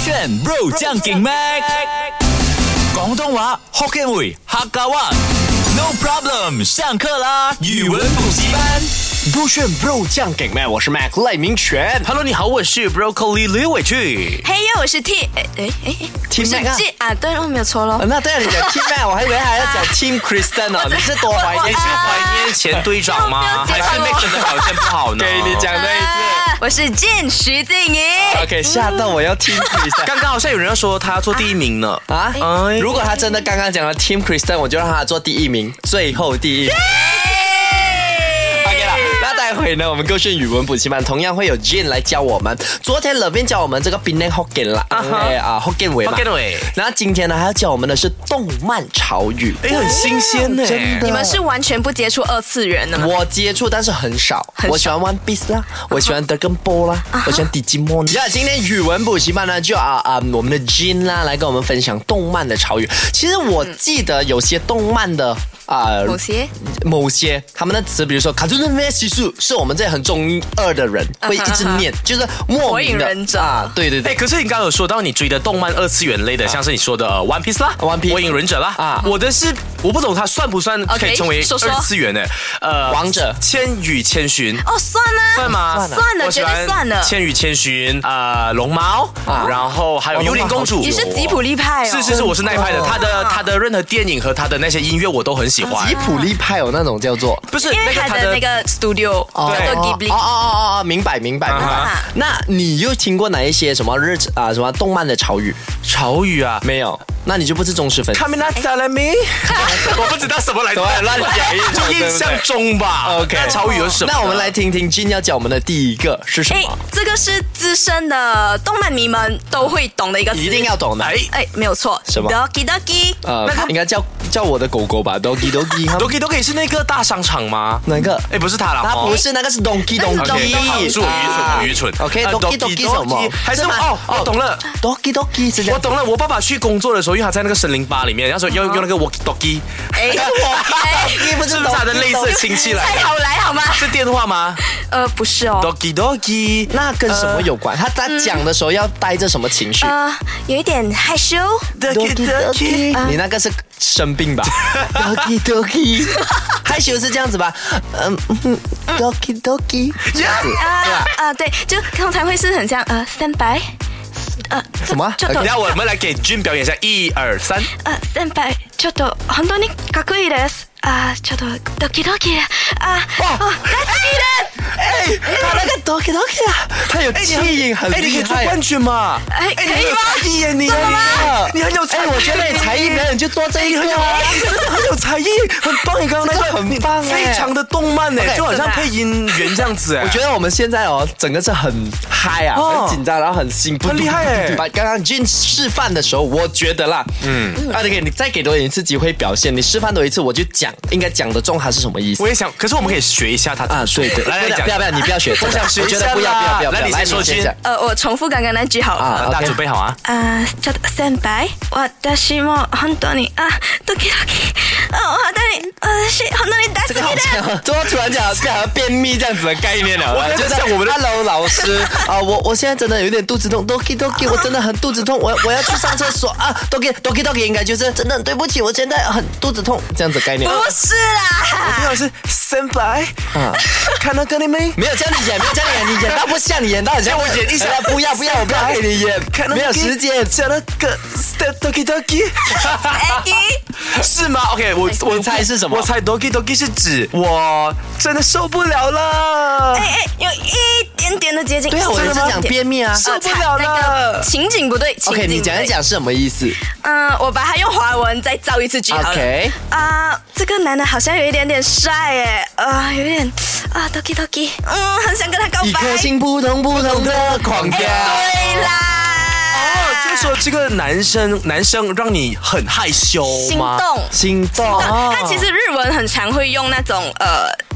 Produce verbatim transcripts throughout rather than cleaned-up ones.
选 Bro 將勁 Mac 廣東話福建話客家話 No problem 上課啦語文補習班入選 Bro 醬給麥，我是 Mac 賴明全。 Hello， 你好，我是 Broccoli 劉偉俊。 嘿呦，我是 T， 哎哎哎 Team Mac 啊， 啊，对哦，没有错咯。 那对啊，你講 Team Mac， 我還以為還要講 Team Kristen 哦，你是多懷念？ 你是懷念前隊長嗎？還是 Mac 真的表現不好呢？ 給你講對一次。 我是健徐靜怡。 OK， 嚇到我要 Team Kristen。 剛剛好像有人要說他要做第一名呢。 啊？ 哎如果他真的剛剛講了 Team Kristen， 我就讓他做第一名，最後第一名。OK 啦，那待會呢，我們勾選語文補習班同樣會有 Jin 來教我們。昨天 Levin 教我們這個 Penang Hokkien 啦，哎啊 Hokkien 話嘛。 Hokkien 話。 然後今天呢，還要教我們的是動漫潮語。 哎，很新鮮呢。 真的。 你們是完全不接觸二次元的嗎？ 我接觸，但是很少。 很少我喜歡 One Piece 啦，我喜歡 Dragon Ball 啦，我喜歡 Digimon。呀，今天語文補習班呢，就啊啊，我們的 Jin 啦，來跟我們分享動漫的潮語。其實我記得有些動漫的啊， 某些某些他們的詞，比如說卡通的咩西數，是我們這很中二的人會一直念，就是莫火名的影忍者啊，對對哎， 對。 可是你剛剛有說到你追的動漫二次元類的，像是你說的呃 One Piece 啦 One Piece 火影忍者啦啊我的是我不懂它算不算可以 OK， 成為說說二次元呢？呃， 王者千與千尋。 哦，算啊， 算嗎？ 算了，絕對算了。 千與千尋，呃，龍貓， 啊然後還有幽靈公主。 你是吉普力派哦？ 是是是，我是那一派的。他的他的任何電影和他的那些音樂我都很喜歡。 吉普力派有那種叫做， 不是因為那個他他的那個 studio 叫做 Ghibli。 哦哦哦哦，明白明白明白。 啊那你又聽過哪一些什麼日啊什麼動漫的潮語？ 潮語啊， 沒有，那你就不是忠實粉絲。 卡米娜薩拉米，我不知道什麼來着， 亂講， 就印象中吧。 OK， 那潮語有什麼？ 那我們來聽聽 Jin 要教我們的第一個是什哎麼？， 這個是資深的動漫迷們都會懂的一個詞， 一定要懂的。 哎哎，沒有錯。 什麼 Doki Doki。 呃，應該叫叫我的狗狗吧，Doki Doki。 ，Doki Doki 是那個大商場嗎？ 哪個？ 哎，不是他啦， 它不是，那個是 Donkey Donkey。 是我愚蠢，我愚蠢。 OK，Doki Doki 什麼？ 還是哦，我懂了。 Doki Doki 是這樣。 我懂了，我爸爸去工作的時候，因為他在那個森林巴裡面，然後說要用那個 walkie talkie， 哎，哎， 不是是不是他的類似親戚來的？ 太好來好嗎？ 是電話嗎呃，不是哦。 ？Doki Doki， 那跟什麼有關？他他講的時候要帶着什麼情緒呃，有一點害羞。 Doki Doki， 你那個是生病吧？Doki Doki，害羞是這樣子吧？嗯，Doki Doki，這樣子啊啊，對，就通常會是很像呃三白，呃什麼？ ちょっと等下我們來給君表演一下，一二三。 呃先輩ちょっと本當にかっこいいです。啊，ちょっとドキドキ啊，哦，大好きです。 哎，他那個 Doki Doki 啊，他有氣音，很哎，你可以厲害。 做冠軍嘛？ 哎， 哎， 可以嗎？ 你很有才藝耶，你真的嗎？ 你很有才哎， 藝。 我覺得你才藝表演就做這一個啊。 你真的很有才藝，很棒！你剛剛那個很棒哎非常的動漫哎， OK， 就好像配音員這樣子哎。 我覺得我們現在哦，整個是很嗨啊， 哦很緊張，然後很興奮， 很厲害哎把剛剛 Jin 示範的時候，我覺得啦，嗯，啊，你你再給多一次機會表現，你示範多一次，我就講，應該講得中它是什麼意思我也想，可是我們可以學一下他啊？對對， 來來講， 不要不要，你不要學， 我想學一下我覺得不要不要不要， 來，你先說君。 呃，我重複剛剛那句好了。 啊大家準備好啊！ 啊，ちょっと先輩、私も本當に啊ドキドキ啊，本当に私本当に大这个好好きです。 像，怎么突然讲好像便秘这样子的概念了？ 我就是像我们的 Hello 老师啊，我我现在真的有点肚子痛，Doki Doki， 我真的很肚子痛，我我要去上厕所啊，Doki Doki Doki 应该就是真的很对不起，我现在很肚子痛这样子概念。 不是啦， 聽到是先輩啊， 看到跟你沒？ 没有叫你演，没有叫你演，你演到不像，你演到很像我演一下哎呀不要不要，我不要给你演，没有時間。 講那個 Doki Doki，是嗎 ？OK， 我我你猜是什麼我猜 Doki Doki 是指我真的受不了了。 哎哎，有一點點的接近。 對啊，我也是講便秘啊。 呃受不了那了個。情景不對，情 OK， 景你講一不對。 講是什麼意思嗯，我把它用華文再造一次句好了。 ？OK， 啊，這個男的好像有一點點帥耶，啊，有一點啊，Doki Doki，嗯，很想跟他告白。 一顆心撲通撲通的狂跳。 對啦。 哦，就是說這個男生男生讓你很害羞心嗎？ 動。 心動。 他其實日文很常會用那種呃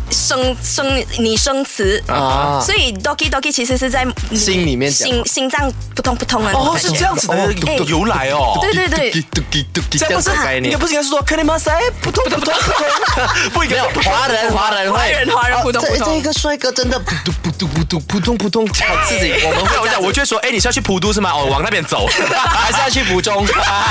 生生拟声词啊，所以 doki doki 其实是在心里面讲心心脏扑通扑通的。 哦，是这样子的由来哦。 对对对， 这样不是应该不是应该是说克里马塞扑通扑通扑通，不应该华人华人华人华人扑通扑通。 这这个帅哥真的扑通扑通扑通扑通扑通，他自己我们会我讲，我就会说，哎，你是要去普都是吗？哦，往那边走， 还是要去浦中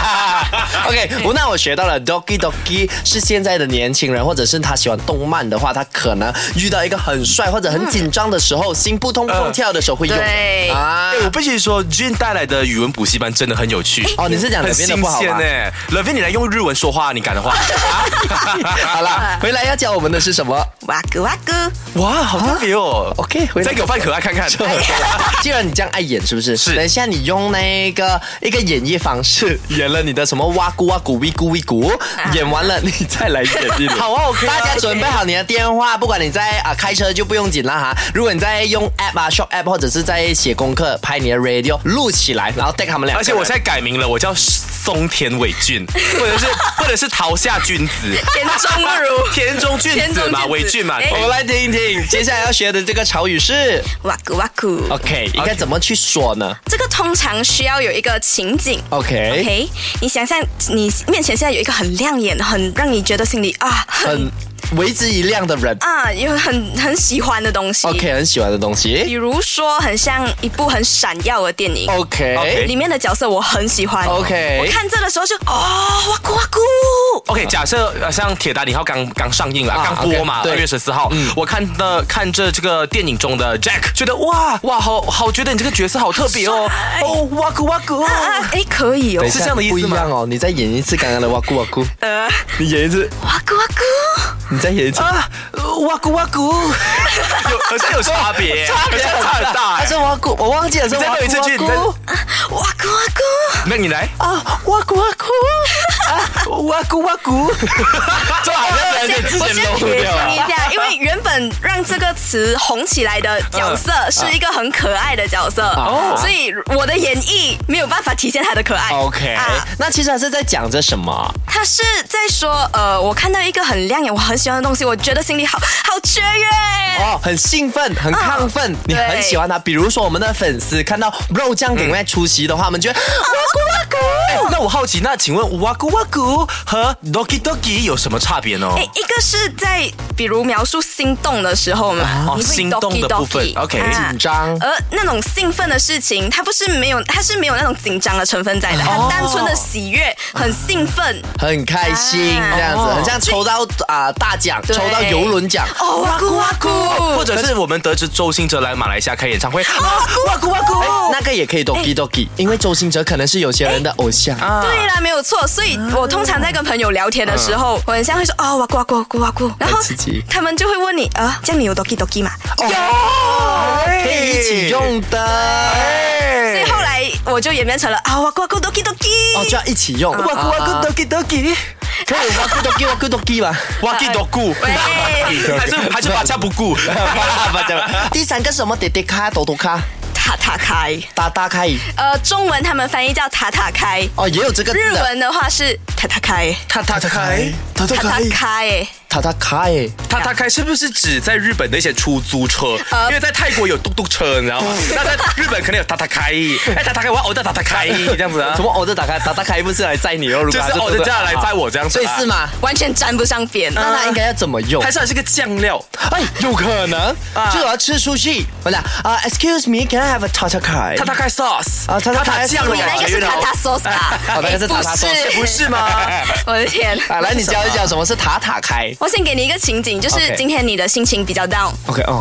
？OK， 那我学到了 doki doki 是现在的年轻人，或者是他喜欢动漫的话，他可能遇到一个很帅或者很紧张的时候，心扑通扑通跳的时候会用。 对啊， 我必须说 Jin 带来的语文补习班真的很有趣。 哦，你是讲很 Levin 的新不好吗？ 鲜哎 ，Levin 你来用日文说话，你敢的话？ 好啦，回来要教我们的是什么？ 哇咕哇咕， 哇，好特别哦。 OK， 回来再给我扮可爱看看。 既然你这样爱演，是不是？ 是。 等一下你用那个一个演绎方式，演了你的什么哇咕哇咕喂咕喂咕，演完了你再来演一点。 好啊 ，OK。 大家准备好你的电话，不管你在啊开车就不用紧了哈。如果你在用 app 啊 shop app 或者是在写功课，拍你的 radio 录起来，然后带他们俩。 而且我现在改名了，我叫松田伟俊，或者是或者是桃下君子， 田中如田中君子嘛，伟俊嘛。 我们来听一听，接下来要学的这个潮语是哇咕哇咕。 OK， 应该怎么去说呢？ 这个通常需要有一个情景。 OK OK， 你想象你面前现在有一个很亮眼、很让你觉得心里啊很为之一亮的人啊，有很很喜欢的东西。 OK， 很喜欢的东比西。 如说很像一部很闪耀的电影。 OK， 里面的角色我很喜欢。 OK， 我看这的时候就哦哇咕哇咕。 OK， 假设呃像《铁达尼号》刚刚上映了， 啊刚播嘛， okay， 二月十四号。嗯，我看的看着这个电影中的 Jack， 觉得哇哇好好，觉得你这个角色好特别哦。哦哇咕哇咕。 啊哎，可以哦。 是这样的意思吗？ 不一样哦，你再演一次刚刚的哇咕哇咕。 呃， 你演一次哇咕哇咕。 你再演一次啊，哇咕哇咕，有好像有差别， 差别差很大。 还是哇咕，我忘记了是哇再录一次剧， 咕你再哇咕哇咕。 那你来啊，哇咕哇咕啊，哇咕哇咕， 这好像有点之我先前漏撇掉了。 清一下，因为原本让这个词红起来的角色是一个很可爱的角色，所以我的演绎没有办法体现他的可爱。 OK， 啊那其实他是在讲着什么？ 他是在说，呃，我看到一个很亮眼、我很喜欢的东西，我觉得心里好好雀跃。 哦，很兴奋，很亢奋，你对很喜欢他。比如说我们的粉丝看到肉酱顶在出席的话，我们觉得哇咕哇咕。 哎那我好奇，那请问哇咕哇咕和 doki doki 有什么差别呢？ 哎，一个是在比如描述心动的时候嘛， 哦你会心动的部分 doki doki OK 啊紧张而那种兴奋的事情，它不是没有，它是没有那种紧张的成分在的，它单纯的喜悦，很兴奋。 很开心啊这样子，很像抽到啊、大奖， 对抽到游轮奖。 哦，哇咕哇咕， 或者是我们得知周兴哲来马来西亚开演唱会， 哇咕哇咕。 哎那个也可以 doki doki，因为周星哲可能是有些人的偶像。 啊对啦，没有错。所以我通常在跟朋友聊天的时候，我很像会说哦哇咕哇咕哇咕哇咕，然后很刺激他们就会问你啊，这样你有 doki doki 吗？ 哦，可以一起用的。 所以后来我就演变成了啊哇咕哇咕 doki doki。 哦，就要一起用。 哇咕哇咕 doki doki， 可以哇咕 doki 哇咕 doki 吧？ 哇咕 doku， 喂还是还是把家不顾。 第三个是什么？点点卡、抖抖卡、 塔塔开， 打打开。 呃，中文他们翻译叫塔塔开， 哦，也有这个字的。 日文的话是塔塔开， 塔塔开， 塔塔塔塔开， 开。 塔塔开。 塔塔开是不是指在日本的一些出租车？ 呃因为在泰国有嘟嘟车，你知道吗？那在日本可能有塔塔开，哎，塔塔开，我要偶的塔塔开这样子啊什？么？我的打开，打打开不是来载你哦？如果就是偶的这样来载我这样子啊， 所以是吗？ 完全沾不上边。 那它应该要怎么用？ 还是还是个酱料？ 哎，有可能啊就我要吃出去。我讲啊，Excuse me, can I have a 塔塔开？ 塔塔开 sauce 啊塔塔开酱的你那感觉， 个是塔塔 sauce 啊？ 哦那个是塔塔 sauce， 哎不是吗？ 我的天！ 啊，来，你教一教什么是塔塔开我先给你一个情景，就是 OK 今天你的心情比较 down，OK，、 ？OK 哦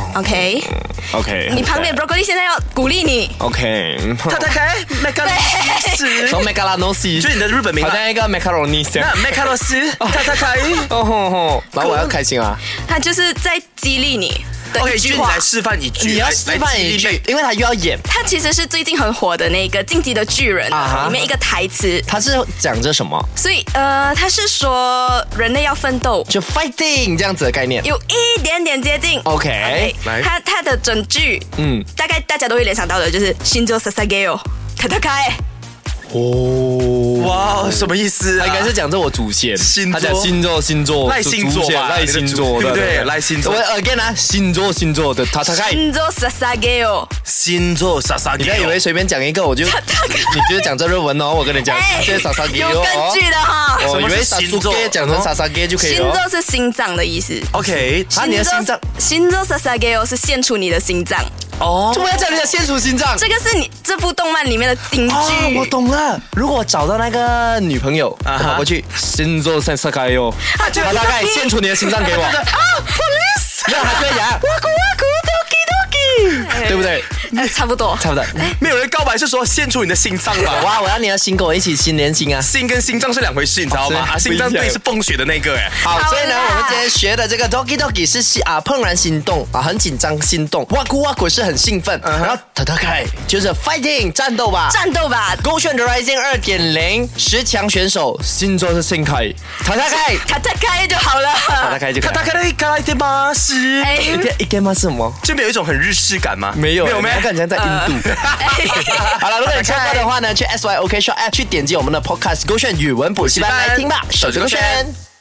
OK， 你旁边 broccoli 现在要鼓励你， ，OK。 塔塔开麦卡罗斯， 从 Megalonosis， 就是你的日本名啊。 好像一个 macaroni 这样那。麦卡罗斯，塔塔开。 哦吼吼，然后我要开心啊！ 他就是在激励你的 OK， 一句话就你来。示范一句， 你要示范一句，因为他又要演， 他其实是最近很火的那个《进击的巨人》 啊哈里面一个台词， 他是讲着什么？ 所以呃，他是说人类要奋斗， 就 fighting 这样子的概念。 有一点点接近。 OK， 来他他的整句， 嗯嗯，大概大家都会联想到的就是心就 sasageo，塔塔开。 哦， 哇，什么意思、啊？ 他应该是讲这我祖先， 星座他讲星座星座赖星座吧， 赖星座对不对？赖星座。 我 again 啊，星座星座的塔塔开。 星座萨萨给哦， 星座傻傻， 你不要以为随便讲一个我就，你就是讲这日文哦，我跟你讲，这傻傻给有根据的哈。 我以为什么是星座讲成傻傻给就可以星了。 座是心脏的意思。 OK， 啊，你的心脏， 星座萨萨给哦是献出你的心脏。 哦， 怎么要讲你的献出心脏？ 这个是你这部动漫里面的金句。 哦，我懂了。如果我找到那个女朋友， 啊哈跑过去，星座萨萨开哟， 啊就他大概献出你的心脏给我。 啊 ，police， 那还可以啊， 哇咕哇咕，doki doki， 对不对？ 呃，差不多。 差不多。 没有人告白是说献出你的心脏吧？ 哇，我要你的心跟我一起心连心啊！ 心跟心脏是两回事，你知道吗？ 哦是啊，心脏对是泵血的那个哎。 好， 好所以呢， 啦我们今天学的这个 doki doki 是心啊怦然心动啊，很紧张心动，哇咕哇咕是很兴奋，然后塔塔开就是 fighting 战斗吧。 战斗吧， 勾选的 Rising 二点零十强选手，星座是新开，塔塔开， 卡塔开就好了。 塔塔开就可以他。大概开来的巴士， 哎一个一个吗？是什么？ 这边有一种很日式感吗？ 没有， 没有没我感觉在印度。好了，如果你错过的话呢，去 S Y O K Shop App 去点击我们的 Podcast 勾选语文补习班来听吧，手指勾选。